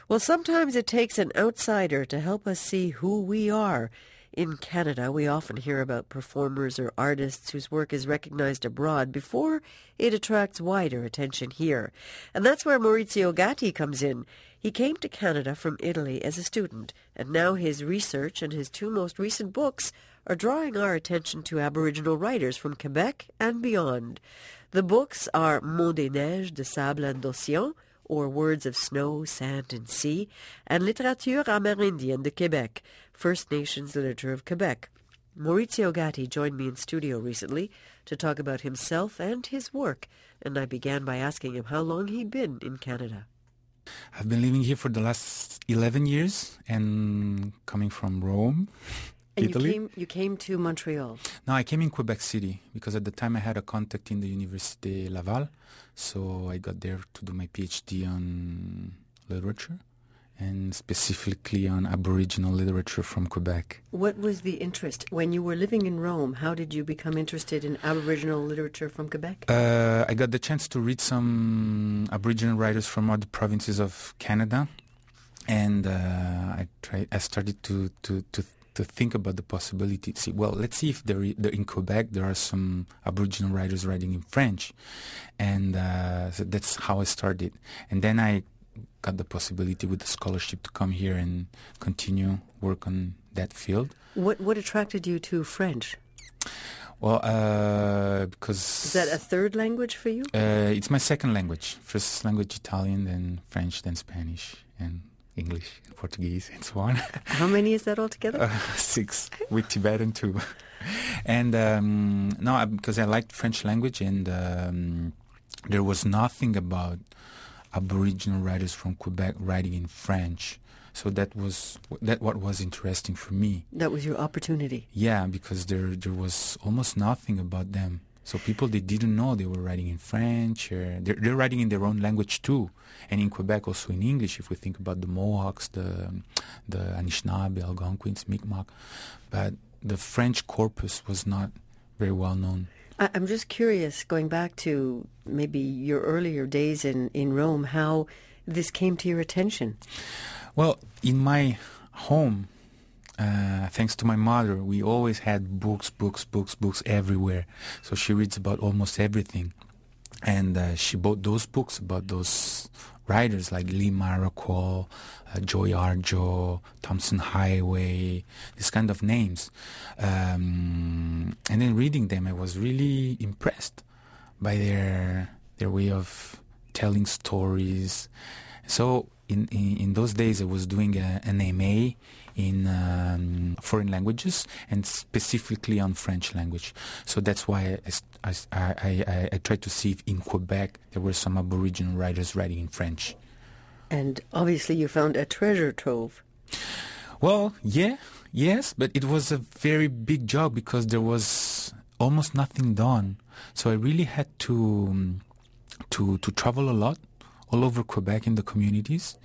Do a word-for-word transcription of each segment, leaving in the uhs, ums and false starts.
Well, sometimes it takes an outsider to help us see who we are. In Canada, we often hear about performers or artists whose work is recognized abroad before it attracts wider attention here. And that's where Maurizio Gatti comes in. He came to Canada from Italy as a student, and now his research and his two most recent books are drawing our attention to Aboriginal writers from Quebec and beyond. The books are Mots des Neiges de Sable et d'Océan, or Words of Snow, Sand and Sea, and Littérature amérindienne de Québec, First Nations Literature of Quebec. Maurizio Gatti joined me in studio recently to talk about himself and his work, and I began by asking him how long he'd been in Canada. I've been living here for the last eleven years and coming from Rome, and Italy. You came, you came to Montreal? No, I came in Quebec City because at the time I had a contact in the Université Laval, so I got there to do my PhD on literature and specifically on Aboriginal literature from Quebec. What was the interest? When you were living in Rome, how did you become interested in Aboriginal literature from Quebec? Uh, I got the chance to read some Aboriginal writers from other provinces of Canada, and uh, I tried. I started to to to to think about the possibility. See, well, let's see if there, there in Quebec there are some Aboriginal writers writing in French, and uh, so that's how I started. And then I got the possibility with the scholarship to come here and continue work on that field. What what attracted you to French? Well, uh, because... Is that a third language for you? Uh, it's my second language. First language Italian, then French, then Spanish, and English, and Portuguese, and so on. How many is that altogether? Uh, six, with Tibetan too. And um, no, because I liked French language, and um, there was nothing about Aboriginal writers from Quebec writing in French. So that was that what was interesting for me. That was your opportunity. Yeah, because there there was almost nothing about them. So people, they didn't know they were writing in French. Or they're, they're writing in their own language too. And in Quebec also in English, if we think about the Mohawks, the the Anishinaabe, Algonquins, Mi'kmaq. But the French corpus was not very well known. I, I'm just curious, going back to maybe your earlier days in, in Rome, how this came to your attention. Well, in my home, uh, thanks to my mother, we always had books, books, books, books everywhere. So she reads about almost everything. And uh, she bought those books about those writers like Lee Maraquol, uh, Joy Arjo, Thompson Highway, these kind of names. Um, and then reading them, I was really impressed by their their way of telling stories. So in, in, in those days, I was doing a, an M A in um, foreign languages and specifically on French language. So that's why I, I, I, I, I tried to see if in Quebec there were some Aboriginal writers writing in French. And obviously you found a treasure trove. Well, yeah, yes, but it was a very big job because there was almost nothing done. So I really had to um, to to travel a lot all over Quebec in the communities,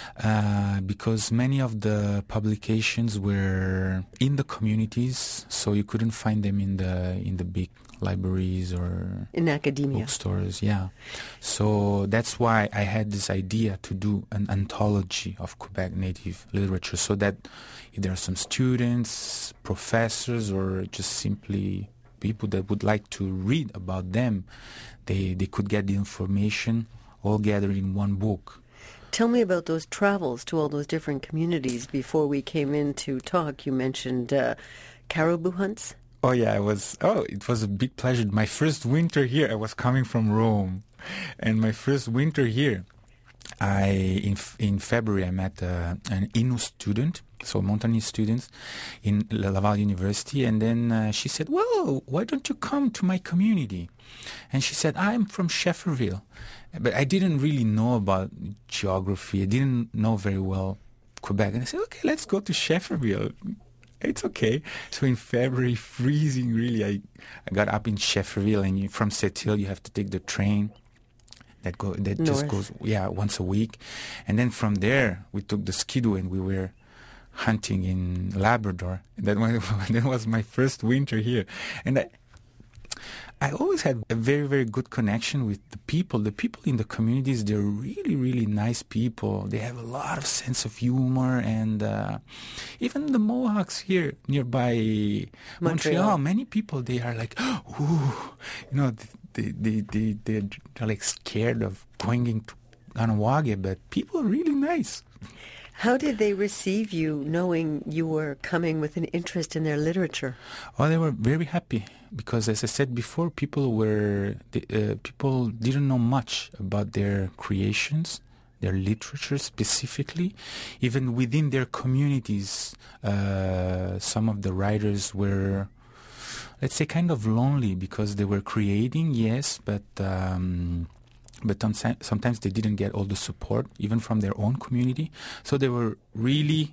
uh, because many of the publications were in the communities, so you couldn't find them in the in the big libraries or in academia bookstores. Yeah, so that's why I had this idea to do an anthology of Quebec Native literature, so that if there are some students, professors, or just simply people that would like to read about them, they they could get the information all gathered in one book. Tell me about those travels to all those different communities. Before we came in to talk, you mentioned uh, caribou hunts. Oh yeah, I was. Oh, it was a big pleasure. My first winter here, I was coming from Rome, and my first winter here, I in in February I met uh, an Innu student, so Montagnais students in Laval University, and then uh, she said, "Well, why don't you come to my community?" And she said, "I'm from Schefferville." But I didn't really know about geography. I didn't know very well Quebec. And I said, okay, let's go to Schefferville. It's okay. So in February, freezing really, I, I got up in Schefferville, and you, from Sept-Îles you have to take the train that go that North. just goes yeah once a week. And then from there we took the skidoo and we were hunting in Labrador. That was, that was my first winter here. And I, I always had a very, very good connection with the people. The people in the communities, they're really, really nice people. They have a lot of sense of humor. And uh, even the Mohawks here nearby Montreal. Montreal, many people, they are like, ooh, you know, they, they, they, they, they're like scared of going into Kahnawake, but people are really nice. How did they receive you, knowing you were coming with an interest in their literature? Oh, they were very happy because, as I said before, people were uh, people didn't know much about their creations, their literature specifically. Even within their communities, uh, some of the writers were, let's say, kind of lonely because they were creating, yes, but. Um, But sometimes they didn't get all the support, even from their own community. So they were really,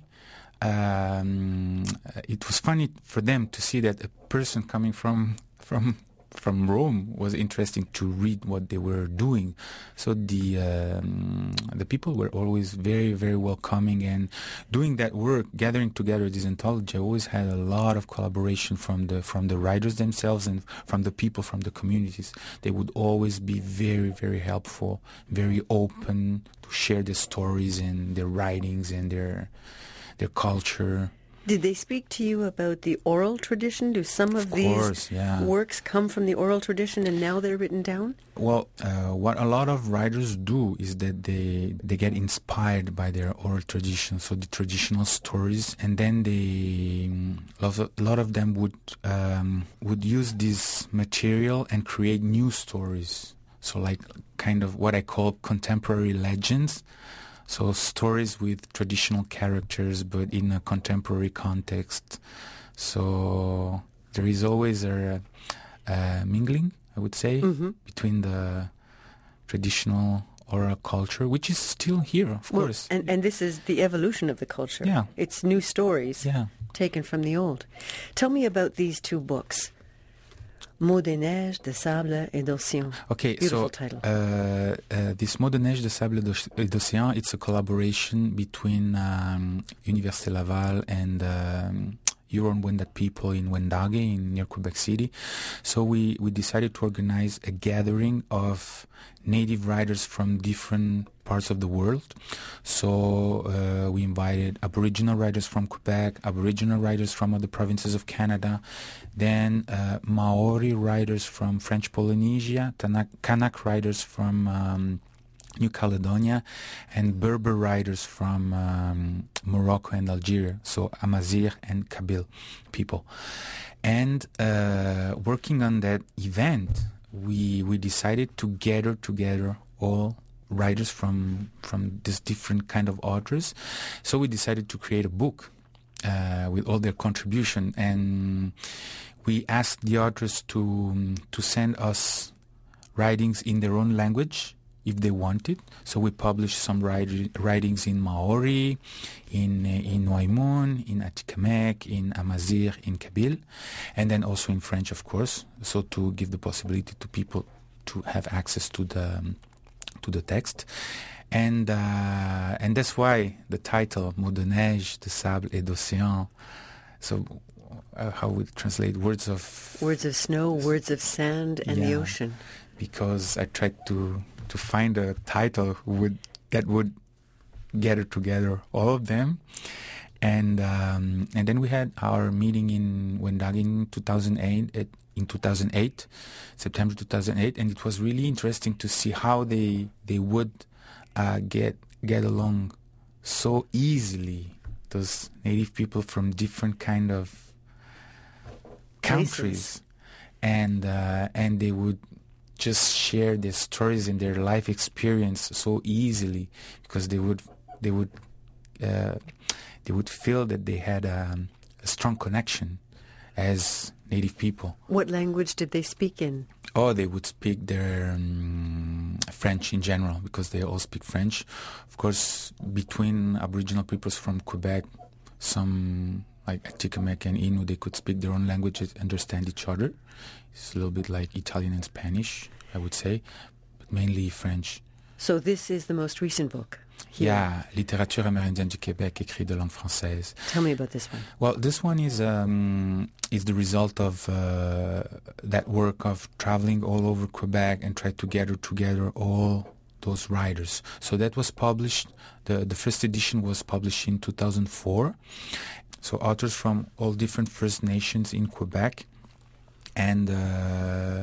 um, it was funny for them to see that a person coming from from from Rome was interesting to read what they were doing. So the um, the people were always very, very welcoming, and doing that work, gathering together this anthology, I always had a lot of collaboration from the from the writers themselves and from the people from the communities. They would always be very, very helpful, very open to share their stories and their writings and their their culture. Did they speak to you about the oral tradition? Do some of, of these course, yeah. works come from the oral tradition and now they're written down? Well, uh, what a lot of writers do is that they they get inspired by their oral tradition, so the traditional stories, and then they a lot of them would um, would use this material and create new stories. So, like kind of what I call contemporary legends. So stories with traditional characters, but in a contemporary context. So there is always a, a mingling, I would say, mm-hmm. between the traditional oral culture, which is still here, of well, course. And, and this is the evolution of the culture. Yeah. It's new stories yeah. taken from the old. Tell me about these two books. Mots de neige, de sable et d'océan. Okay, Beautiful so title. Uh, uh, this Mots de neige, de sable et d'océan, it's a collaboration between um, Université Laval and um, Huron-Wendat people in Wendake, in near Quebec City. So we, we decided to organize a gathering of native writers from different parts of the world. So uh, we invited Aboriginal writers from Quebec, Aboriginal writers from other provinces of Canada, then uh, Maori writers from French Polynesia, Tanak, Kanak writers from um, New Caledonia, and Berber writers from um, Morocco and Algeria, so Amazigh and Kabyle people. And uh, working on that event, we we decided to gather together all writers from from this different kind of authors. So we decided to create a book uh, with all their contribution, and we asked the authors to to send us writings in their own language if they wanted. So we published some write- writings in Maori, in in Noaimon, in Atikamekw, in Amazigh, in Kabyle, and then also in French, of course, so to give the possibility to people to have access to the um, to the text. And uh, and that's why the title, Mots de neige, de sable et d'océan, so uh, how we translate words of... Words of snow, words of sand, and yeah, the ocean. Because I tried to... to find a title would that would gather together all of them, and um, and then we had our meeting in Wendake in two thousand eight. At, in two thousand eight, September two thousand eight, and it was really interesting to see how they they would uh, get get along so easily. Those native people from different kind of countries, Places. and uh, and they would just share their stories and their life experience so easily, because they would they would uh, they would feel that they had um, a strong connection as native people. What language did they speak in? Oh, they would speak their um, French in general, because they all speak French. Of course, between Aboriginal peoples from Quebec, some like Atikamekw and Innu, they could speak their own languages, understand each other. It's a little bit like Italian and Spanish, I would say, but mainly French. So this is the most recent book? here. Yeah, Littérature amérindienne du Québec, écrit de langue française. Tell me about this one. Well, this one is um, is the result of uh, that work of traveling all over Quebec and try to gather together all those writers. So that was published, the, the first edition was published in two thousand four. So authors from all different First Nations in Quebec and uh,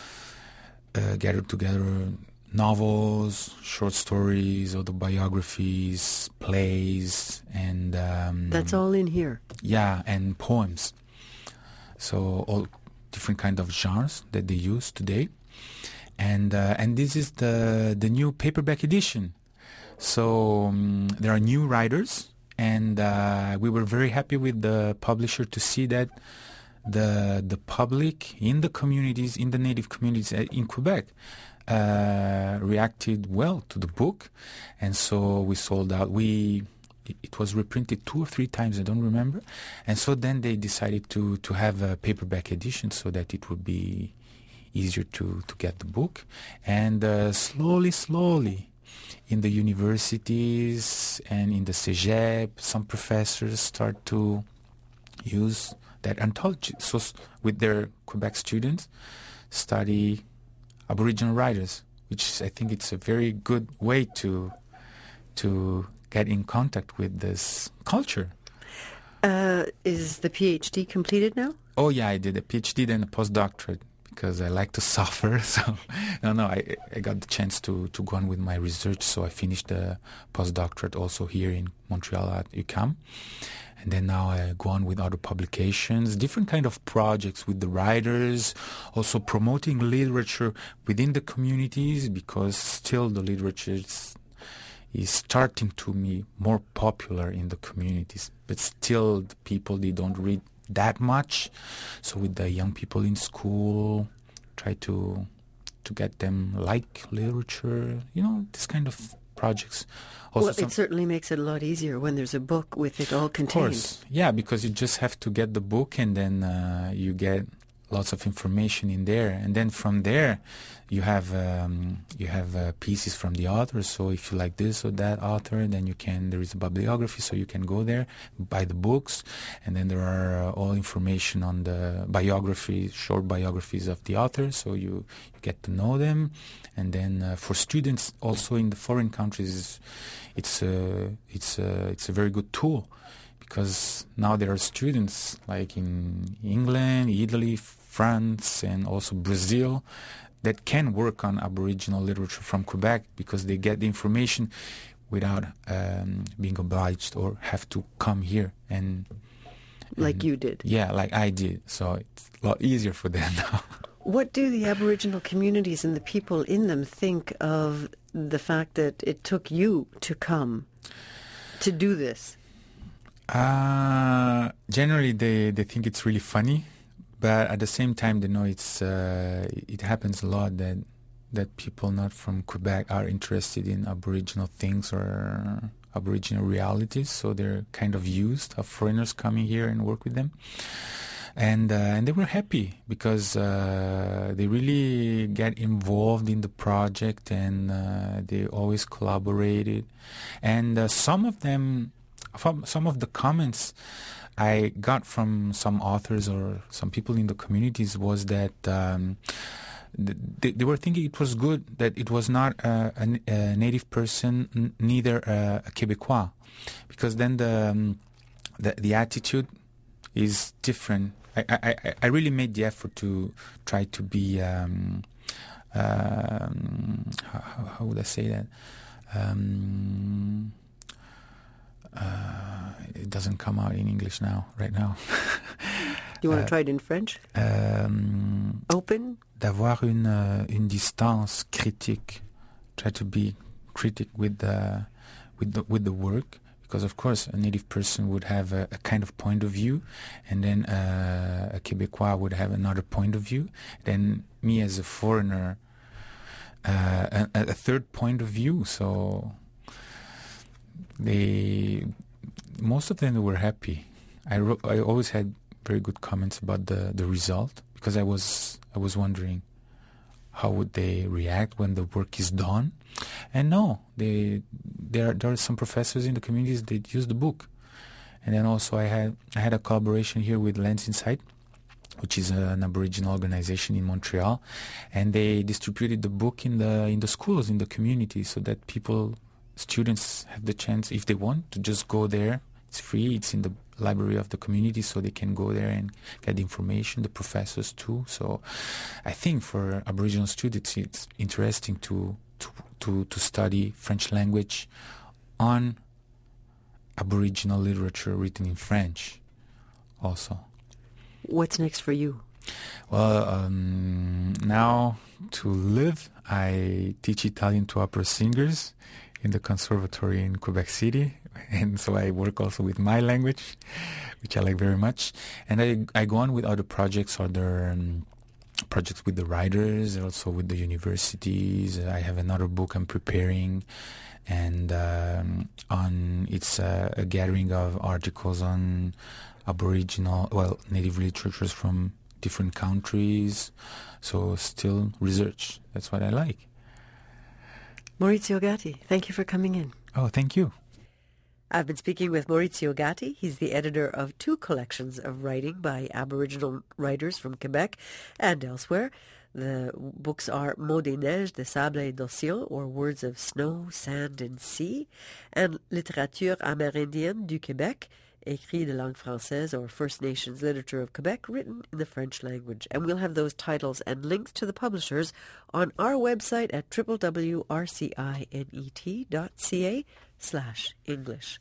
uh, gathered together novels, short stories, autobiographies, plays, and um, that's all in here. Yeah, and poems. So all different kind of genres that they use today, and uh, and this is the the new paperback edition. So um, there are new writers, and uh, we were very happy with the publisher to see that the the public in the communities, in the native communities in Quebec, Uh, reacted well to the book, and so we sold out. We it was reprinted two or three times, I don't remember, and so then they decided to to have a paperback edition so that it would be easier to to get the book. And uh, slowly, slowly, in the universities and in the cégep, some professors start to use that anthology. So with their Quebec students, study Aboriginal writers, which I think it's a very good way to to get in contact with this culture. Uh, is the PhD completed now? Oh yeah, I did a PhD then a postdoctorate because I like to suffer. So no, no, I I got the chance to to go on with my research. So I finished the postdoctorate also here in Montreal at U Q A M. And then now I go on with other publications, different kind of projects with the writers, also promoting literature within the communities, because still the literature is, is starting to be more popular in the communities. But still the people, they don't read that much. So with the young people in school, try to to get them like literature, you know, this kind of projects. Also well, it certainly makes it a lot easier when there's a book with it all contained. Of course, yeah, because you just have to get the book and then uh, you get lots of information in there, and then from there you have um, you have uh, pieces from the author. So if you like this or that author, then you can. There is a bibliography, so you can go there, buy the books, and then there are uh, all information on the biographies, short biographies of the author. So you, you get to know them, and then uh, for students also in the foreign countries, it's a it's a it's a very good tool. Because now there are students like in England, Italy, France, and also Brazil that can work on Aboriginal literature from Quebec because they get the information without um, being obliged or have to come here. and, and Like you did. Yeah, like I did. So it's a lot easier for them now. What do the Aboriginal communities and the people in them think of the fact that it took you to come to do this? Uh, generally, they, they think it's really funny, but at the same time, they know it's uh, it happens a lot that that people not from Quebec are interested in Aboriginal things or Aboriginal realities, so they're kind of used of foreigners coming here and work with them. And uh, and they were happy because uh, they really get involved in the project, and uh, they always collaborated. And uh, some of them, from some of the comments I got from some authors or some people in the communities was that um, they, they were thinking it was good that it was not a, a, a native person, n- neither a, a Quebecois, because then the, um, the the attitude is different. I, I, I really made the effort to try to be um, um, how, how would I say that? Um, uh, it doesn't come out in English now, right now. You want to uh, try it in French? Um, Open? D'avoir une, uh, une distance critique. Try to be critic with the, with the, with the work. Because, of course, a native person would have a, a kind of point of view, and then uh, a Quebecois would have another point of view. Then me as a foreigner, uh, a, a third point of view. So they, most of them were happy. I wrote, I always had very good comments about the, the result, because I was I was wondering how would they react when the work is done. And no, they there there are some professors in the communities that use the book. And then also I had I had a collaboration here with Lands Inside, which is an Aboriginal organization in Montreal, and they distributed the book in the in the schools, in the community, so that people, students, have the chance, if they want, to just go there. It's free. It's in the library of the community, so they can go there and get information. The professors too. So I think for Aboriginal students, it's interesting to to to, to study French language on Aboriginal literature written in French also. What's next for you? Well, um, now to live, I teach Italian to opera singers in the conservatory in Quebec City, and so I work also with my language, which I like very much. And I, I go on with other projects, other um, projects with the writers, also with the universities. I have another book I'm preparing, and um, on it's uh, a gathering of articles on Aboriginal, well, native literatures from different countries. So still research. That's what I like. Maurizio Gatti, thank you for coming in. Oh, thank you. I've been speaking with Maurizio Gatti. He's the editor of two collections of writing by Aboriginal writers from Quebec and elsewhere. The books are Mots des Neiges de Sable et d'Océan, or Words of Snow, Sand and Sea, and Littérature amérindienne du Québec, Écrits de langue française, or First Nations Literature of Quebec, written in the French language. And we'll have those titles and links to the publishers on our website at w w w dot r c i net dot c a slash English.